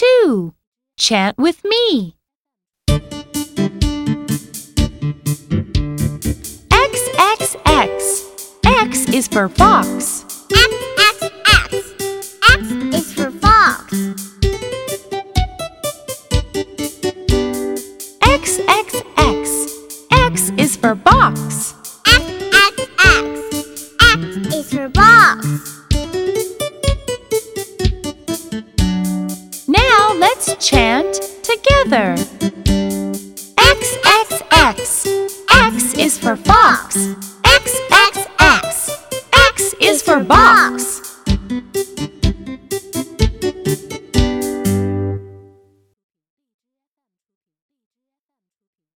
2. Chant with me. X, X, X. X is for fox. X, X, X. X is for fox. X, X, X. X is for box. X, X, X. X is for box. Now let's chant together. X, X, X. X is for fox. X, X, X. X is for box.